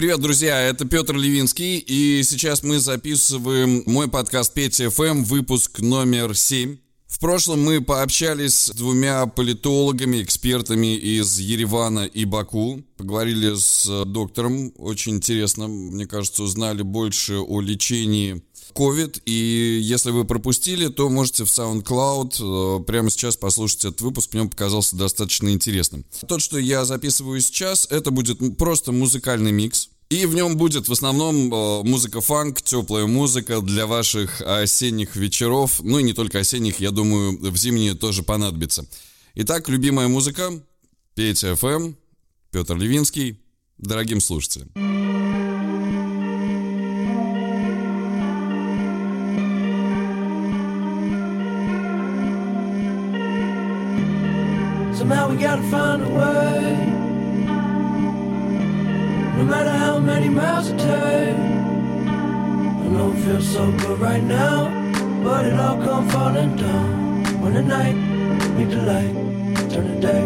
Привет, друзья, это Петр Левинский, и сейчас мы записываем мой подкаст Петя ФМ, выпуск номер 7. В прошлом мы пообщались с двумя политологами, экспертами из Еревана и Баку. Поговорили с доктором, очень интересно, мне кажется, узнали больше о лечении COVID. И если вы пропустили, то можете в SoundCloud прямо сейчас послушать этот выпуск, мне он показался достаточно интересным. Тот, что я записываю сейчас, это будет просто музыкальный микс. И в нем будет в основном музыка-фанк, теплая музыка для ваших осенних вечеров. Ну и не только осенних, я думаю, в зимние тоже понадобится. Итак, любимая музыка, Петя ФМ, Петр Левинский, дорогим слушателям. Somehow we gotta find a way. No matter how many miles it takes. I know it feels so good right now, but it all come falling down when the night meet the light, turn the day.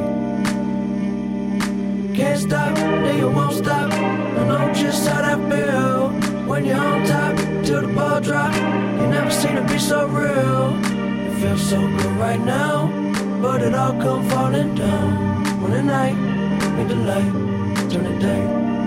Can't stop, then you won't stop. I know just how that feel when you're on top till the ball drop. You never seen it be so real. It feels so good right now, but it all come falling down when the night meet the light, turn the day.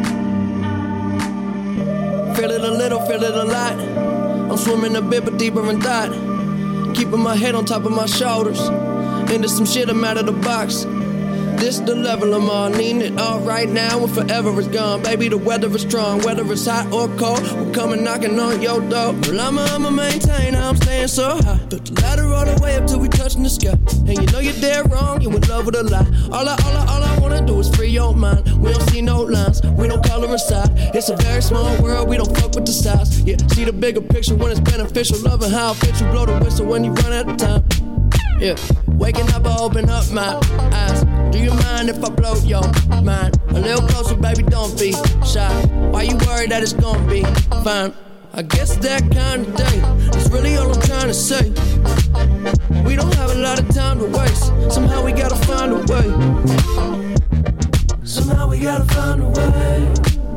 Feel it a little, feel it a lot. I'm swimming a bit, but deeper in thought. Keeping my head on top of my shoulders. Into some shit, I'm out of the box. This the level I'm on. Needing it all right now and forever is gone. Baby, the weather is strong. Whether it's hot or cold, we're coming knocking on your door. Well, I'ma maintain, I'm staying so high. Put the ladder all the way up till we touching the sky. And you know you're dead wrong, you in love with a lie. All I wanna do is free your mind. We don't see no lines, we don't color inside. It's a very small world, we don't fuck with the size. Yeah, see the bigger picture when it's beneficial. Loving how it fits you, blow the whistle when you run out of time. Yeah, waking up, I open up my eyes. Do you mind if I blow your mind? A little closer, baby, don't be shy. Why you worried that it's gonna be fine? I guess that kind of day is really all I'm trying to say. We don't have a lot of time to waste. Somehow we gotta find a way. Somehow we gotta find a way.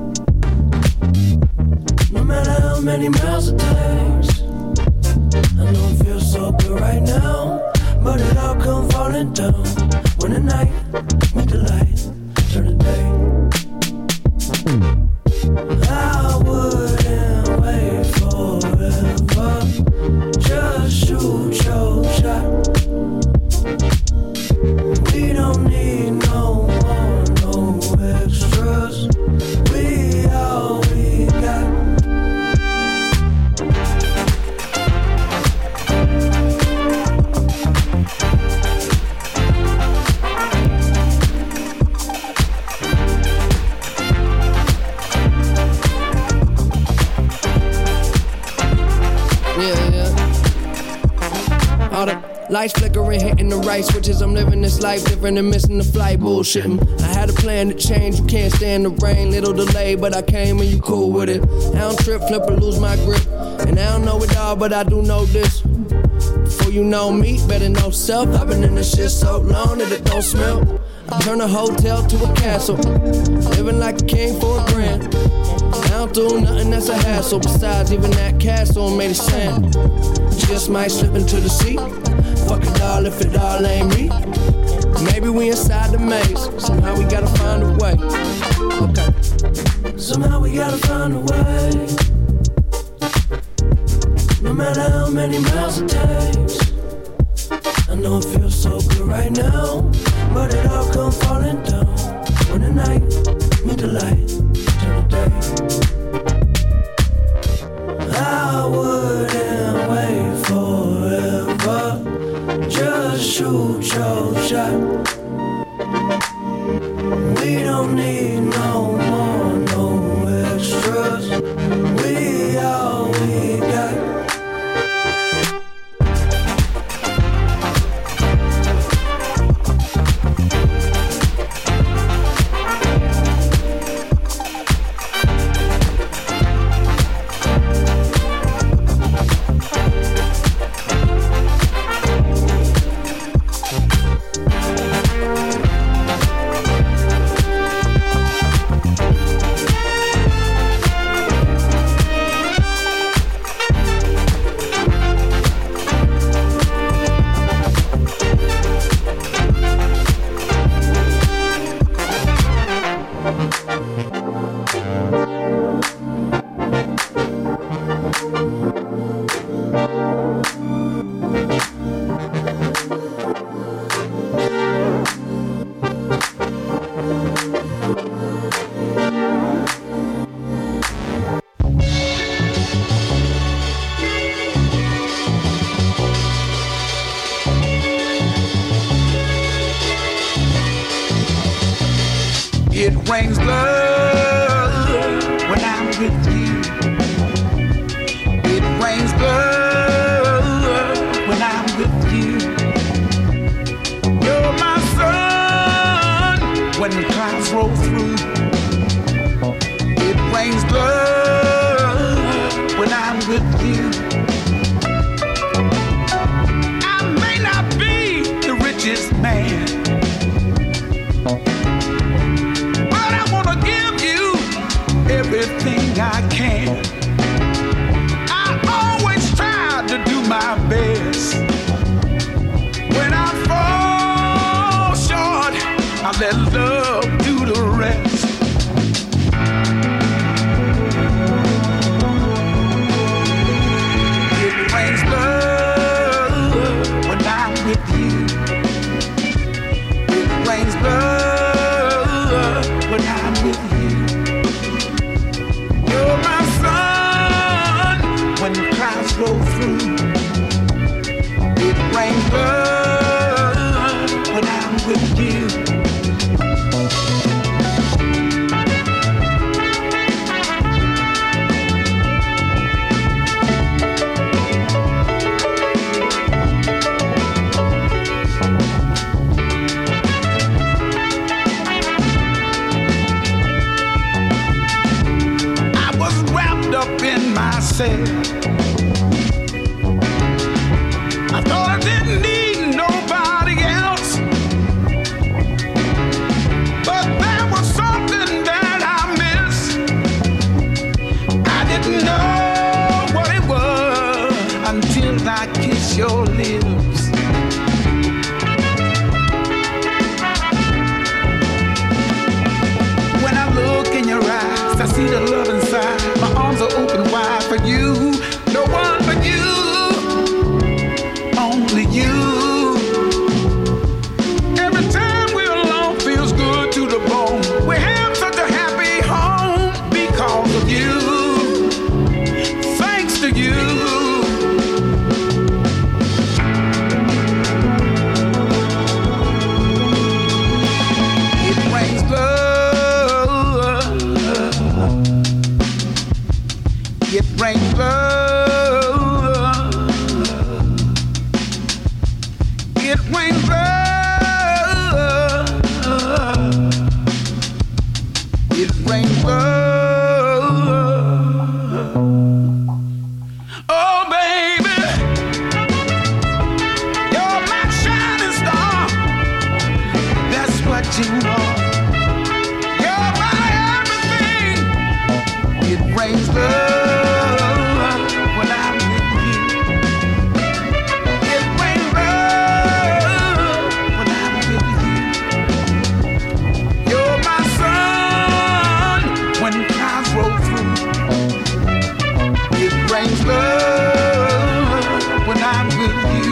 No matter how many miles it takes. I know it feels so good right now, but it all come falling down when the night meet the light, turn the day. I wouldn't wait forever, just shoot your shot. We don't need no more, no extras. We all we got. Lights flickering, hitting the right switches. I'm living this life different and missing the flight, bullshitting. I had a plan to change, you can't stand the rain. Little delay, but I came and you cool with it. I don't trip, flip or lose my grip. And I don't know it all, but I do know this. Before you know me, better know self. I've been in this shit so long that it don't smell. I turn a hotel to a castle. Living like a king for a grand. I don't do nothing that's a hassle. Besides, even that castle made of sand. Just might slip into the sea. Fuck it all if it all ain't me. Maybe we inside the maze. Somehow we gotta find a way. Okay. Somehow we gotta find a way. No matter how many miles it takes. I know it feels so good right now, but it all come falling down when the night meet the light, turn the day. I wouldn't wait forever, just shoot your shot. We don't need no more, no extras. We all we got. brings love when I'm with you. It brings love when I'm with you. You're my sun when the clouds roll through. It brings love when I'm with you. I may not be the richest man, but I want to give you everything I can. I always try to do my best. When I fall short, I let love do the rest. It brings love when I'm with you. It brings love when I'm with you. You're my sun when the clouds roll through. It brings love when I'm with you. I was wrapped up in myself. I thought I didn't need nobody else, but there was something that I missed. I didn't know what it was until I kissed your lips. When I look in your eyes, I see the love inside. My arms are open wide for you. No one but you. Only you. Every time we're alone feels good to the bone. We have such a happy home because of you. Thanks to you. It brings love. It brings love. It brings love. It brings love. Oh, baby, you're my shining star. That's what you are. You're my everything. It brings love when I'm with you. It brings love when I'm with you. You're my sun when clouds roll through. It brings love when I'm with you.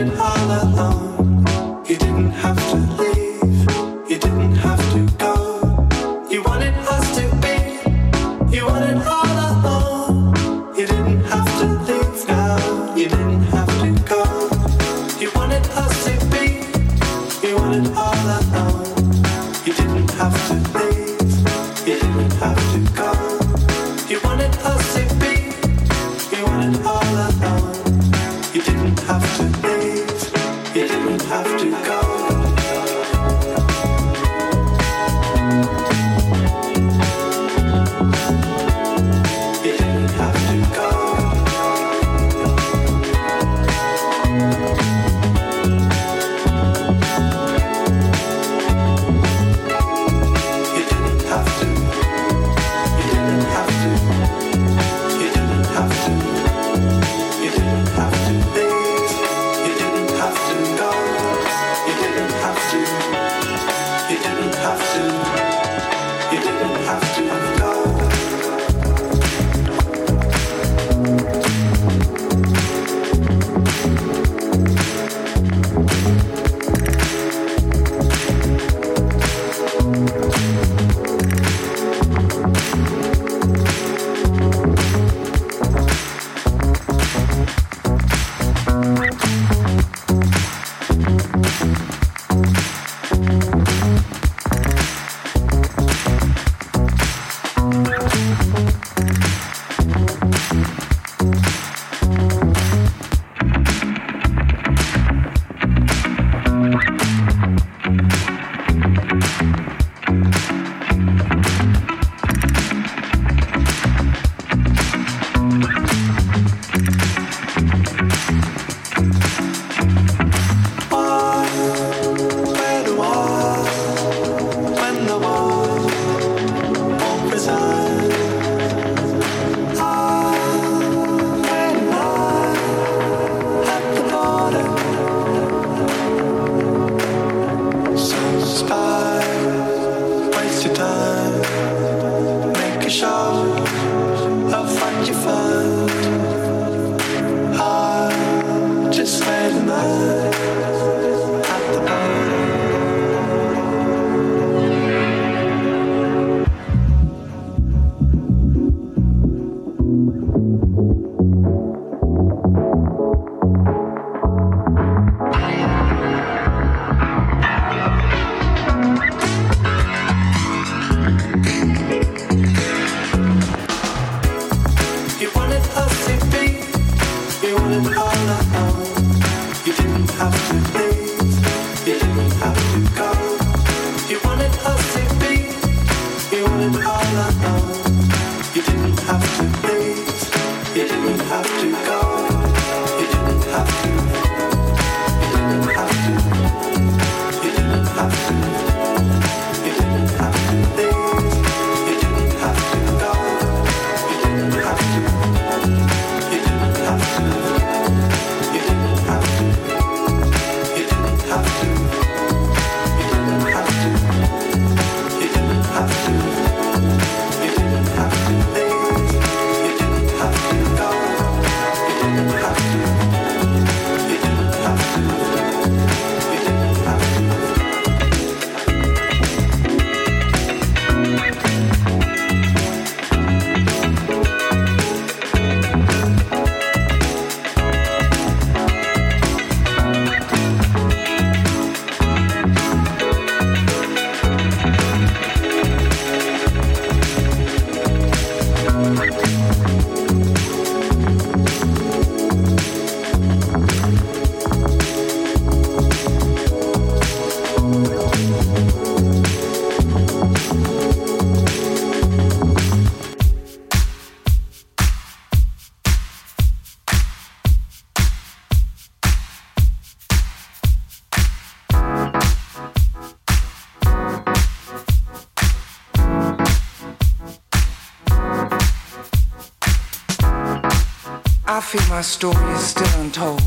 I feel my story is still untold,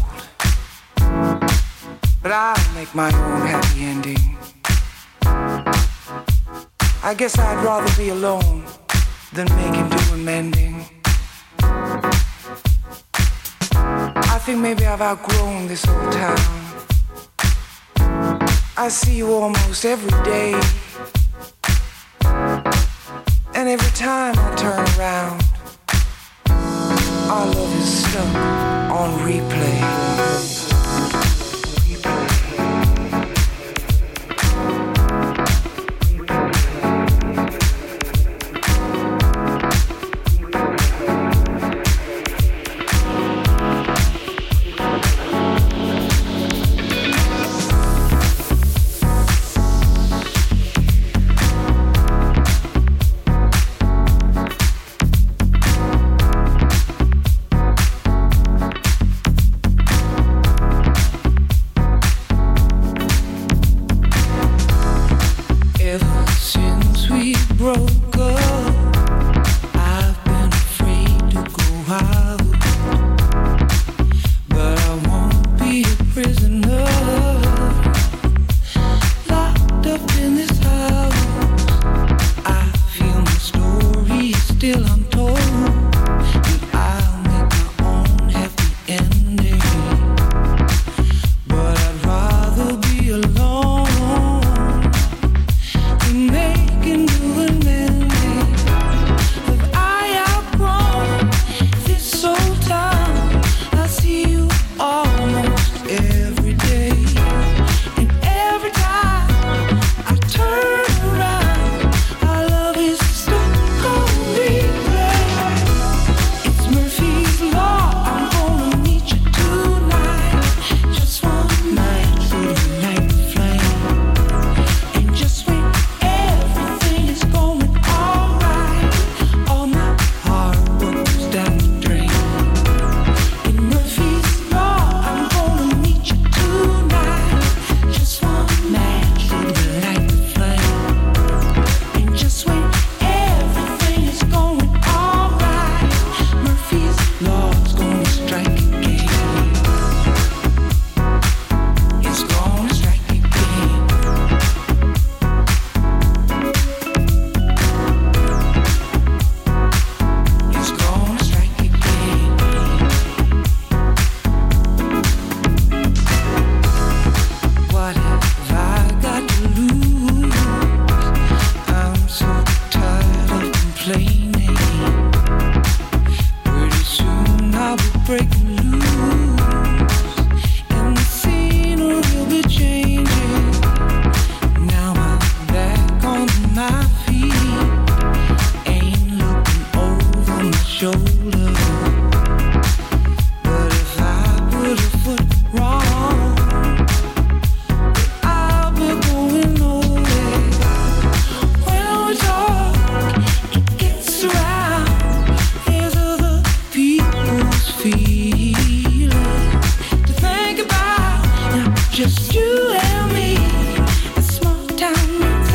but I'll make my own happy ending. I guess I'd rather be alone than making do amending. I think maybe I've outgrown this old town. I see you almost every day, and every time I turn around, our love is stuck on replay.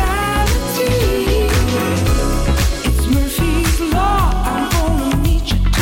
It's Murphy's Law. I'm gonna meet you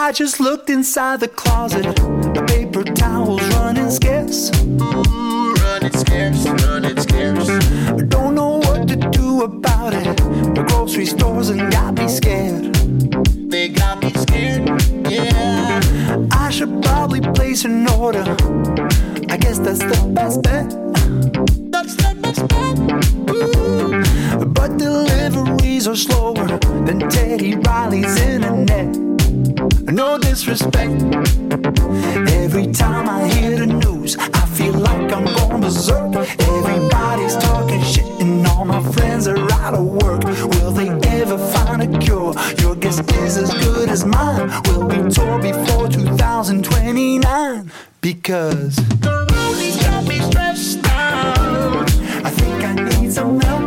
I just looked inside the closet. The paper towels running scarce. Running scarce, running scarce. Don't know what to do about it. The grocery stores and got me scared. They got me scared, yeah. I should probably place an order. I guess that's the best bet. That's the best bet. Ooh. But deliveries are slower than Teddy Riley's internet. No disrespect. Every time I hear the news, I feel like I'm going berserk. Everybody's talking shit and all my friends are out of work. Will they ever find a cure? Your guess is as good as mine. Will we tour before 2029? Because the roadie's got me stressed out. I think I need some help.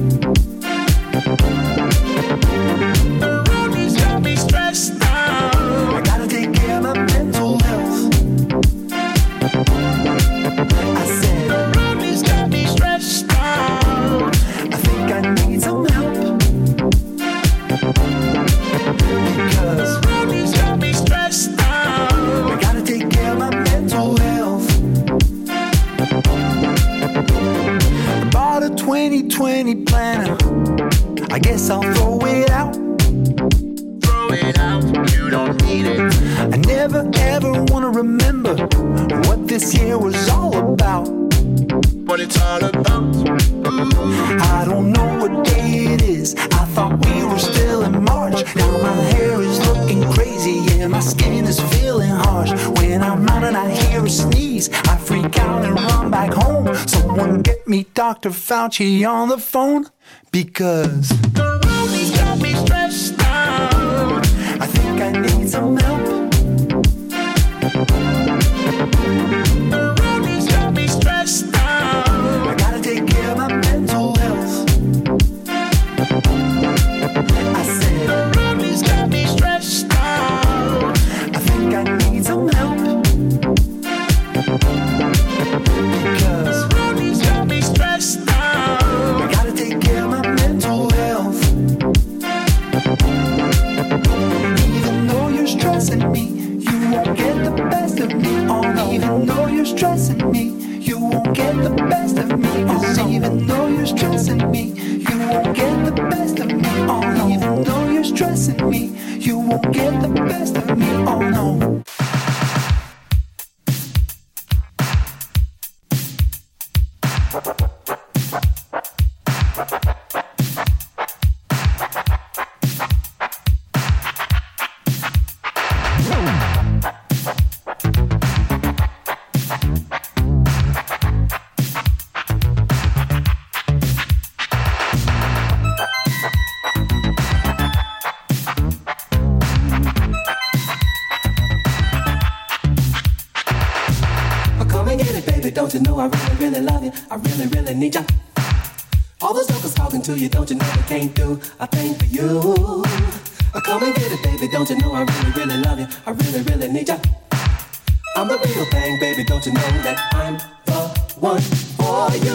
The roadie's got me stressed out. I gotta take care of my mental health. I said the roadie's got me stressed out. I think I need some help. Because the roadie's got me stressed out. I gotta take care of my mental health. I bought a 2020 planner. I guess I'll throw it out. Throw it out, you don't need it. I never ever wanna remember what this year was all about. What it's all about. Ooh. I don't know what day it is. I thought we were still in March. Now my hair is looking crazy. Yeah, my skin is feeling harsh. When I'm out and I hear a sneeze, I freak out and run back home. Someone get me Dr. Fauci on the phone. Because the roadie's got me stressed out. I think I need some help. The roadie's got me stressed out. I gotta take care of my mental health. I said the roadie's got me stressed out. I think I need some help. Because the roadie's got me stressed out. I gotta take care of my mental health. Even though you're stressing me, you won't get the best of me. Oh no. Even though you're stressing me, you won't get the best of me. Oh no. Even though you're stressing me, you won't get the best of me. Oh no. Even though you're stressing me, you won't get the best of me. Oh no. Don't you know I really, really love you? I really, really need you. All those jokers talking to you, don't you know they can't do a thing for you? Come and get it, baby. Don't you know I really, really love you? I really, really need you. I'm the real thing, baby. Don't you know that I'm the one for you?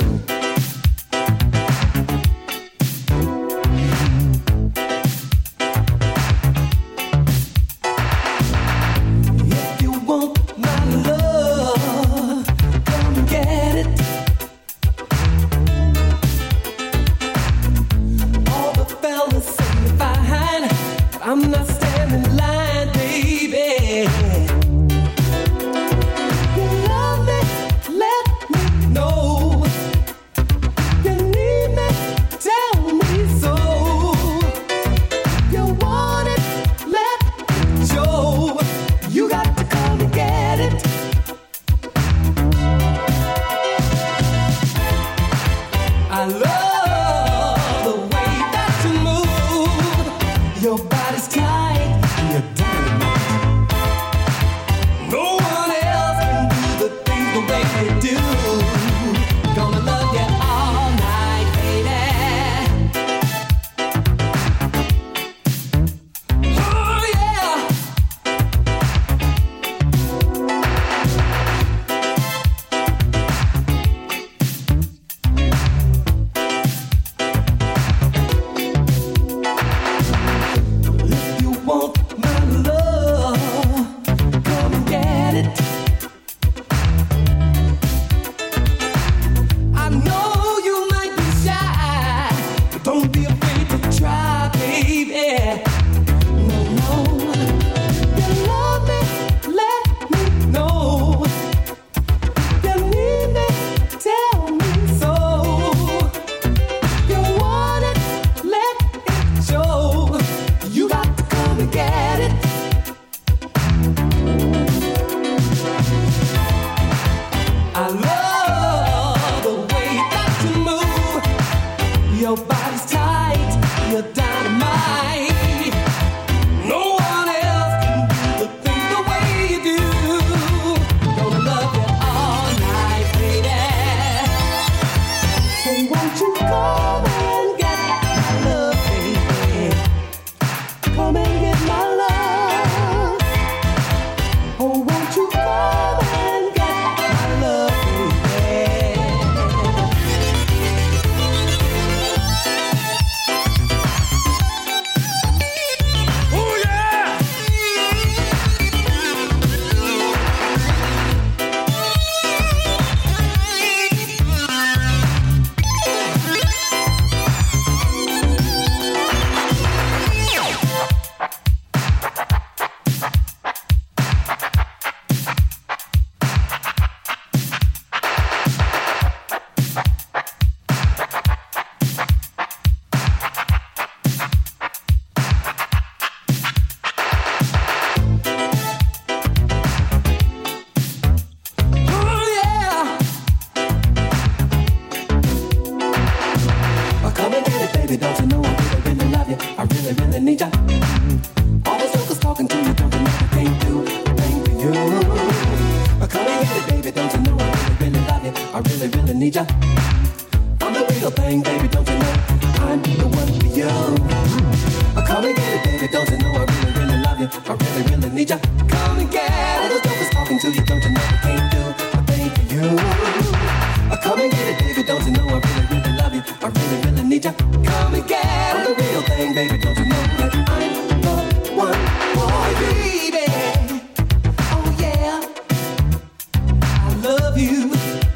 All those jokers talking to you, don't you know I can't do a thing for you? Come and get it, baby, don't you know I really, really love you? I really, really need ya. I'm the real thing, baby, don't you know I'm the one for you? Come and get it, baby, don't you know I really, really love you? I really, really need ya. Come and get it. All those jokers talking to you, don't you know I can't do a thing for you? Come and get it, baby, don't you know I really, really love you? I really, really need ya. Come and get it. I'm the real thing, baby, don't you know that I'm the one for you, baby? Oh yeah, I love you.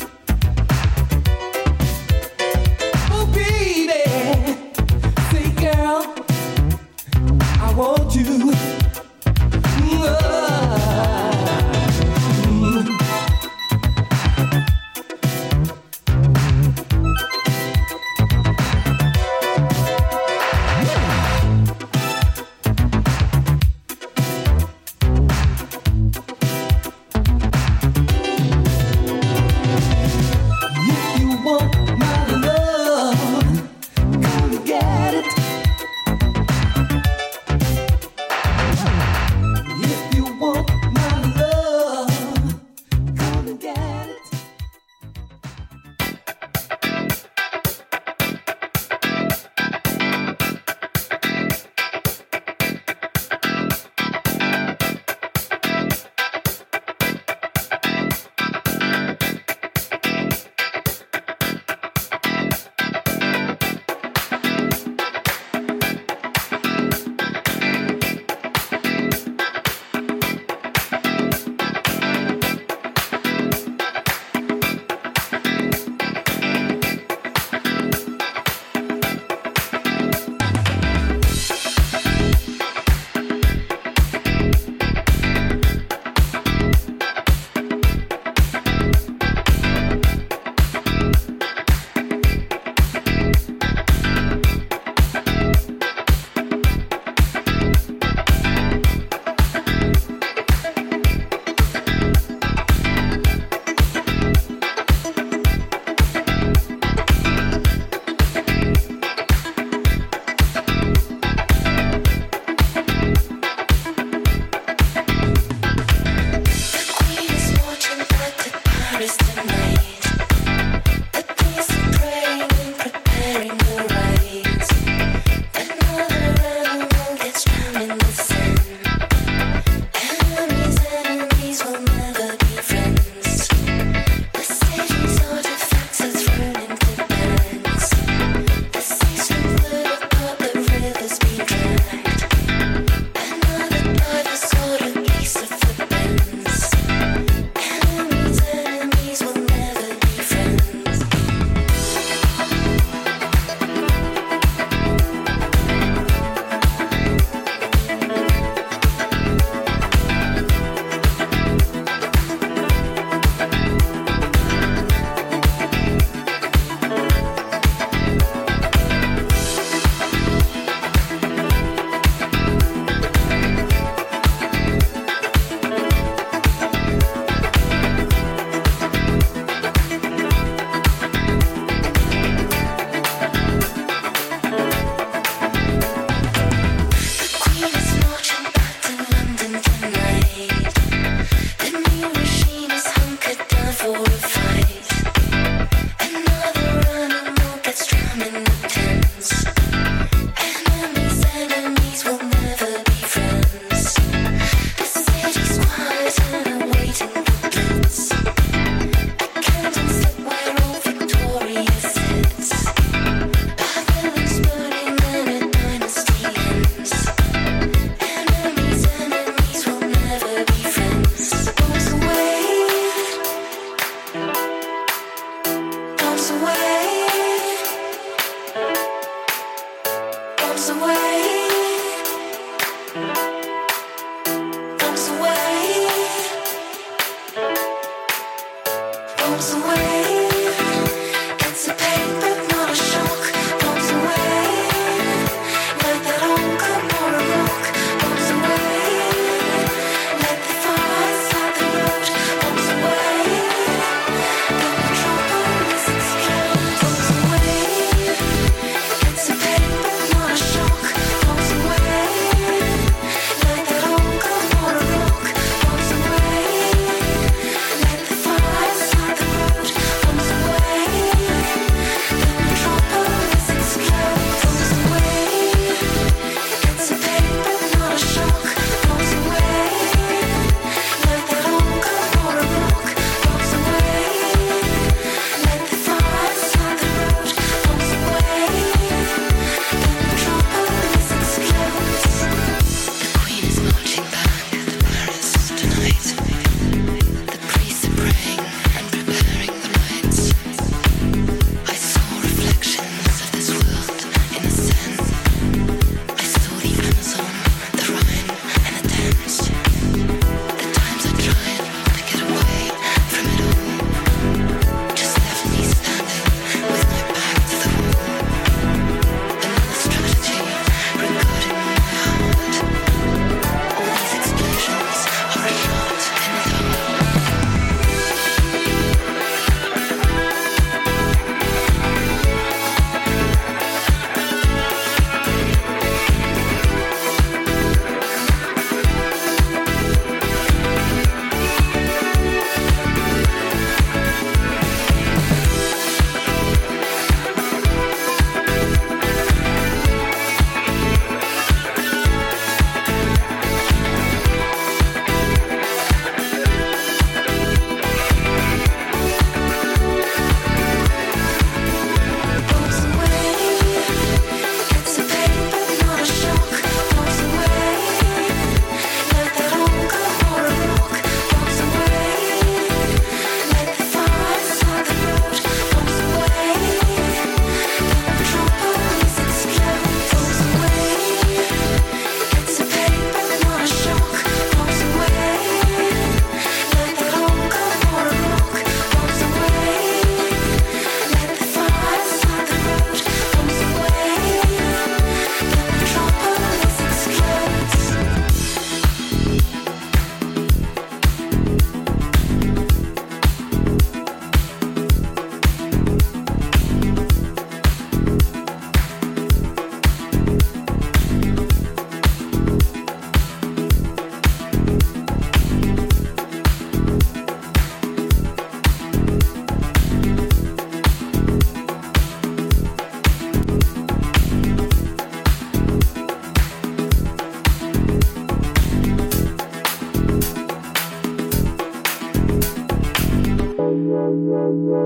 Oh baby, say girl, I want you.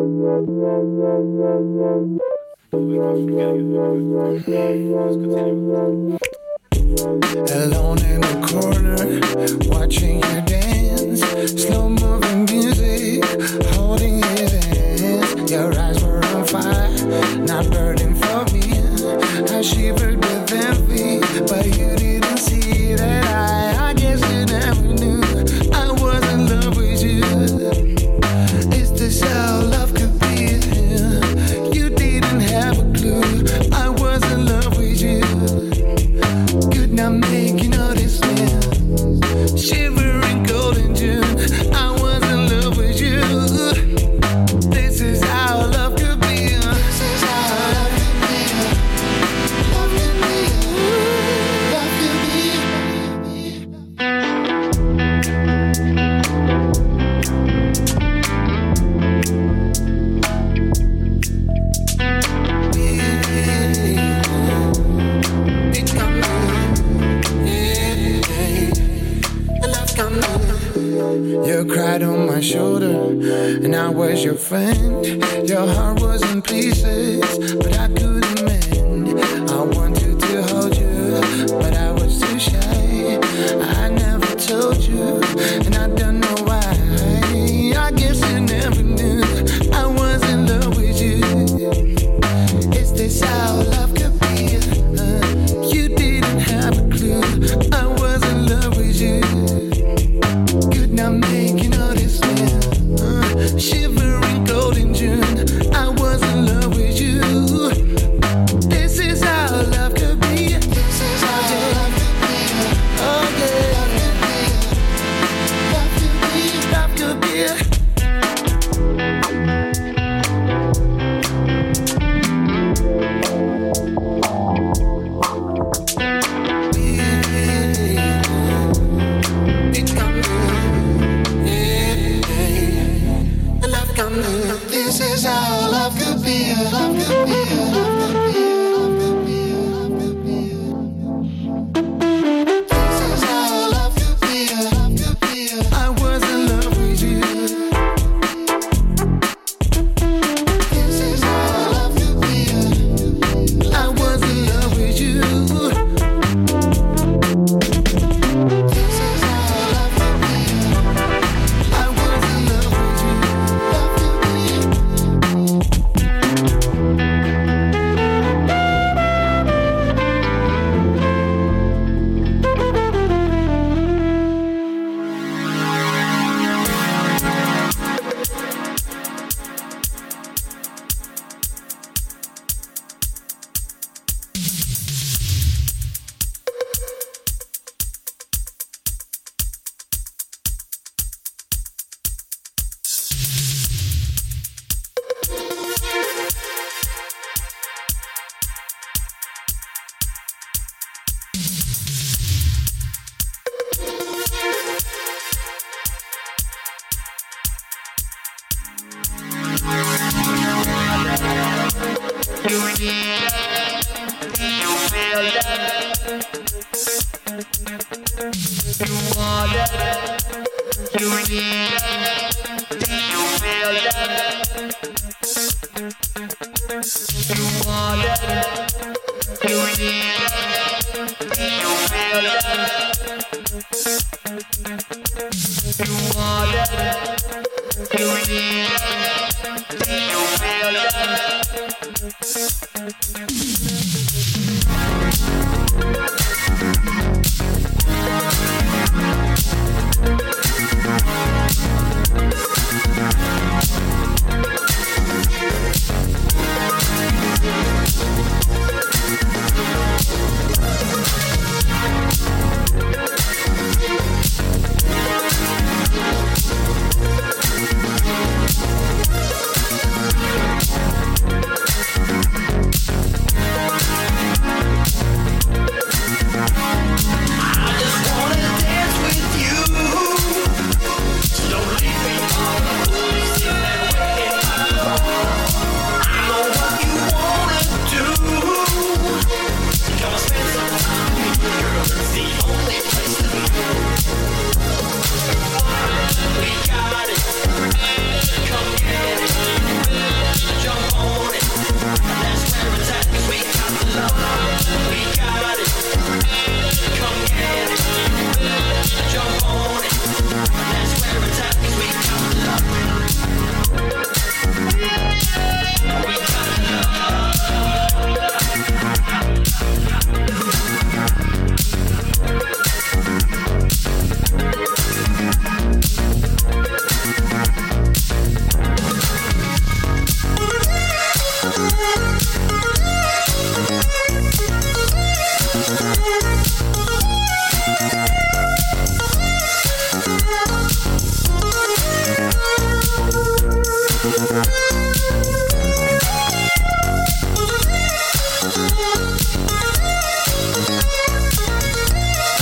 Alone in the corner, watching you dance. Slow moving music, holding his hands. Your eyes were on fire, not burning for me. I shivered with envy, but you didn't see that I guess you never knew I was in love with you. Is this how love could be? You didn't have a clue I was in love with you. Could not make you notice me. Shivering cold in June, I was in love with you. This is how love could be. This is how love could be. Love could be. Love could be. You cried on my shoulder, and I was your friend. Your heart was in pieces, but I couldn't mend. I wanted to hold you, but I was too shy. I never told you, and I don't know why. I guess you never knew I was in love with you. Is this how love could be? You didn't have a clue I was in love with you. Could not make you notice me. Shivering cold in June, I was in love with you. This is how love could be. This is how love could be. Oh yeah, love could be. Love could be. This is how love could be. Love could be. Love could be. Love could be. This is how love could be. Love could be. I was in love with you. This is how love could be. I was in love with you. This is how love could be. I was in love with you. Love could be.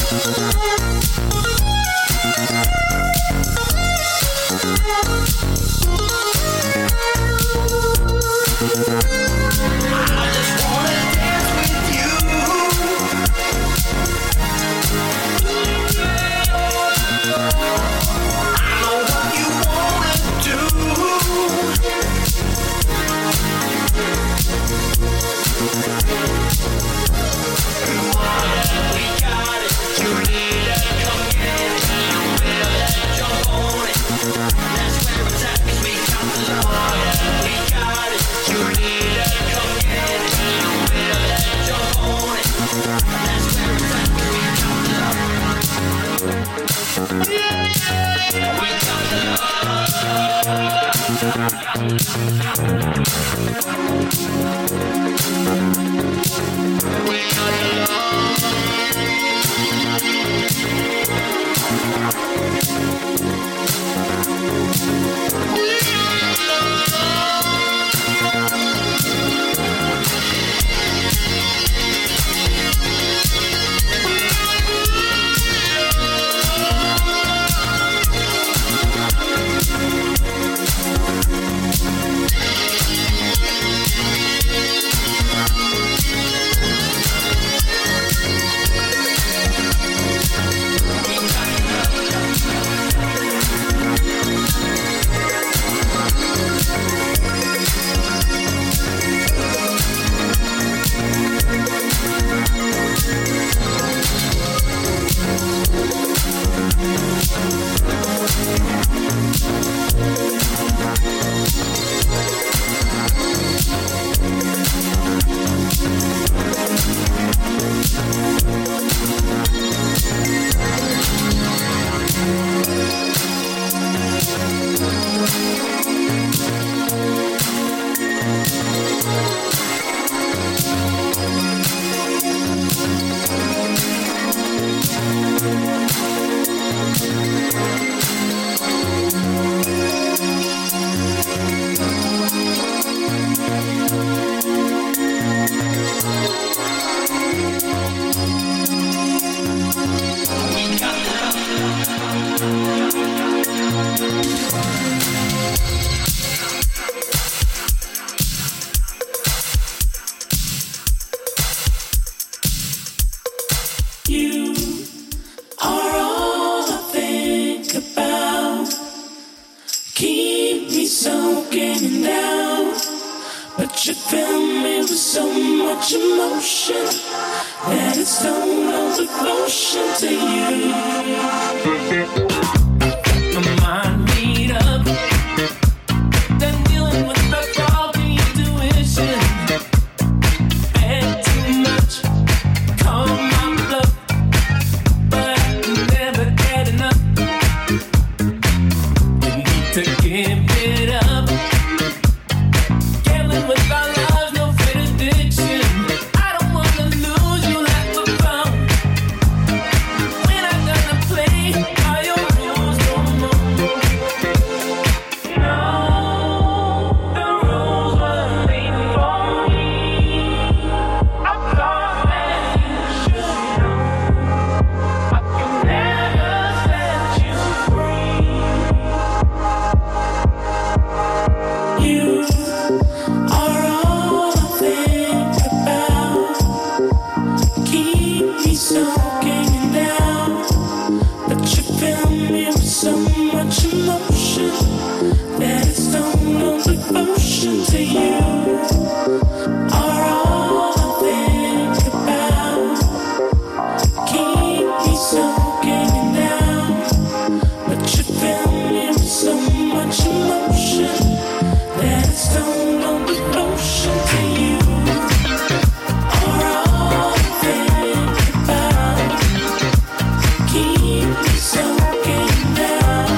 Keep me soaking down.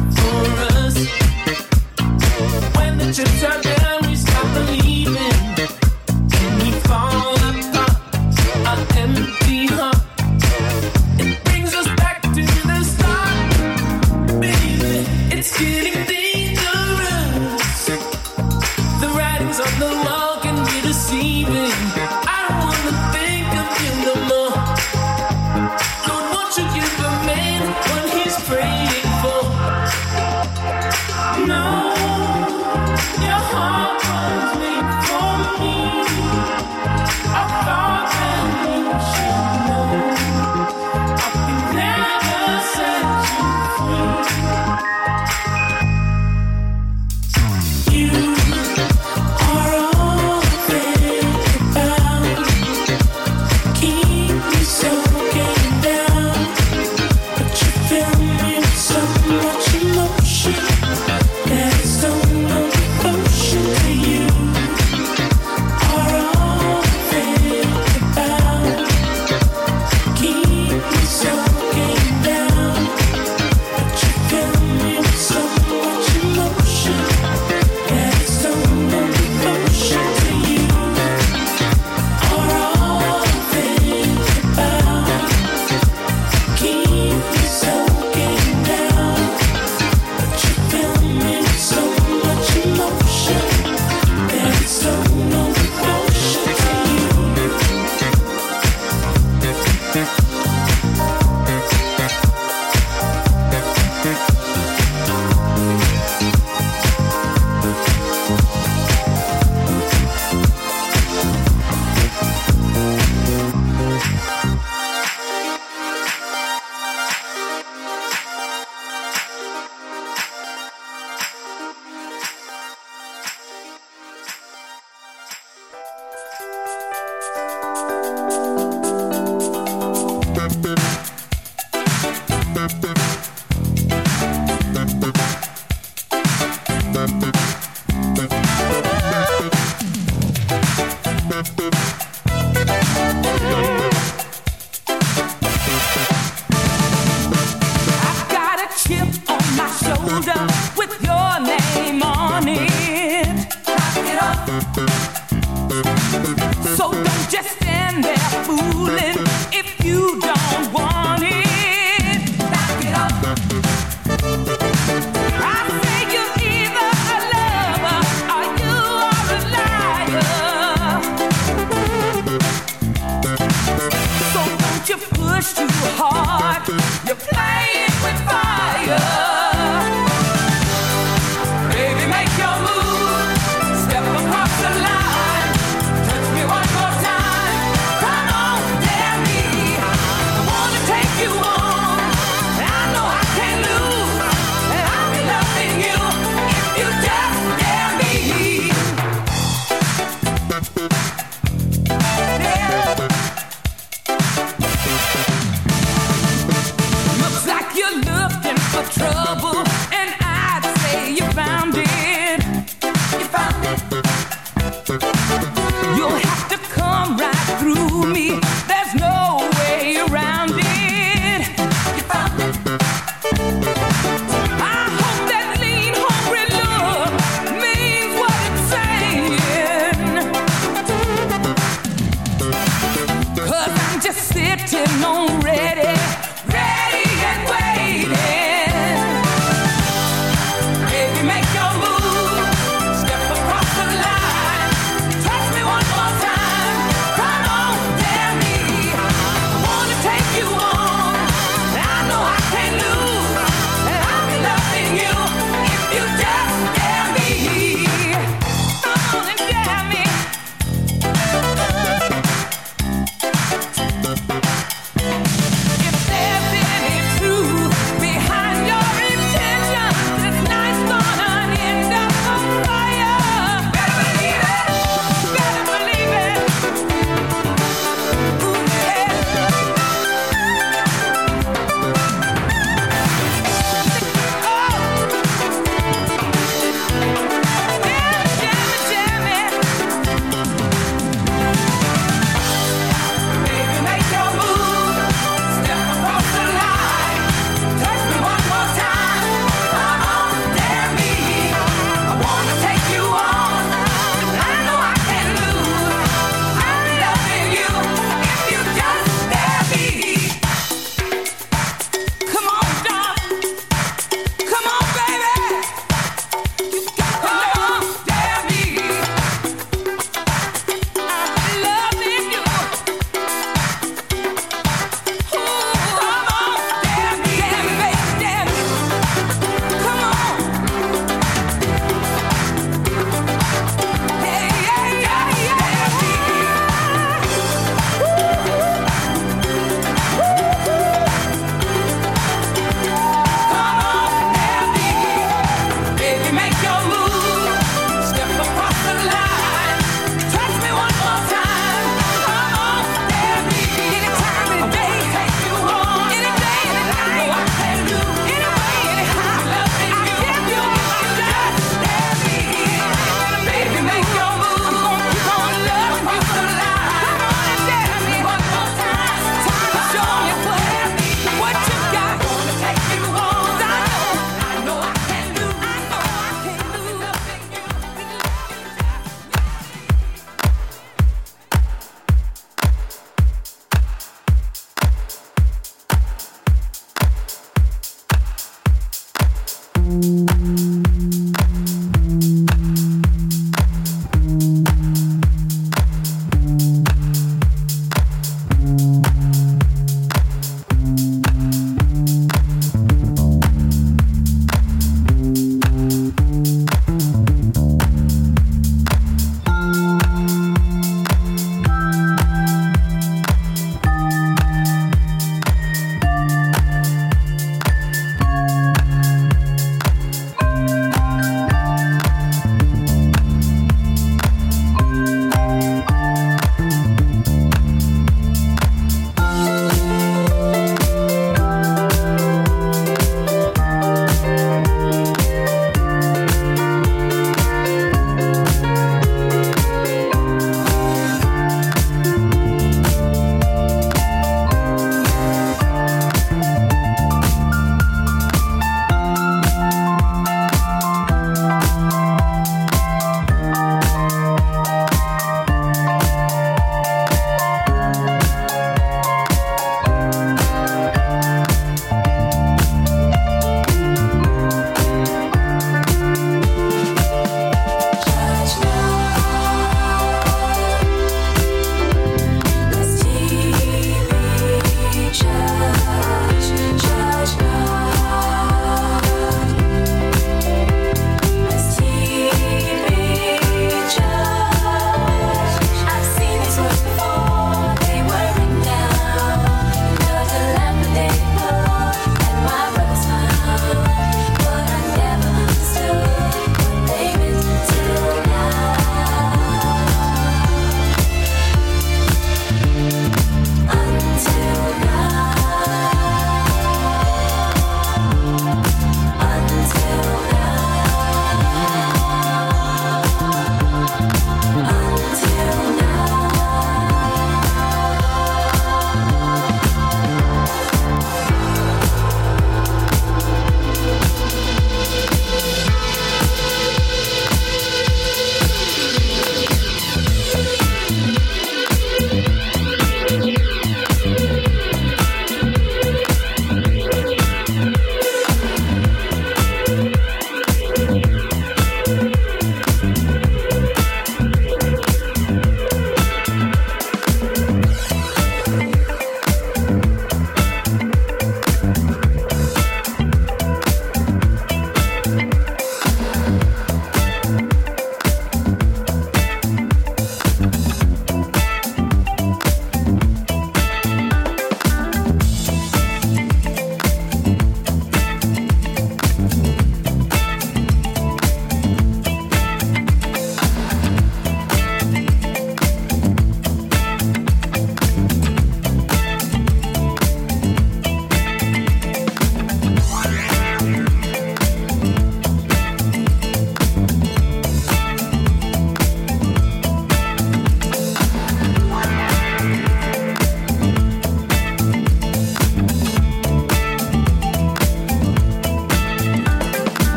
for us. When the chips are down, we stop believing. And we fall apart, an empty heart. It brings us back to the start, baby. It's getting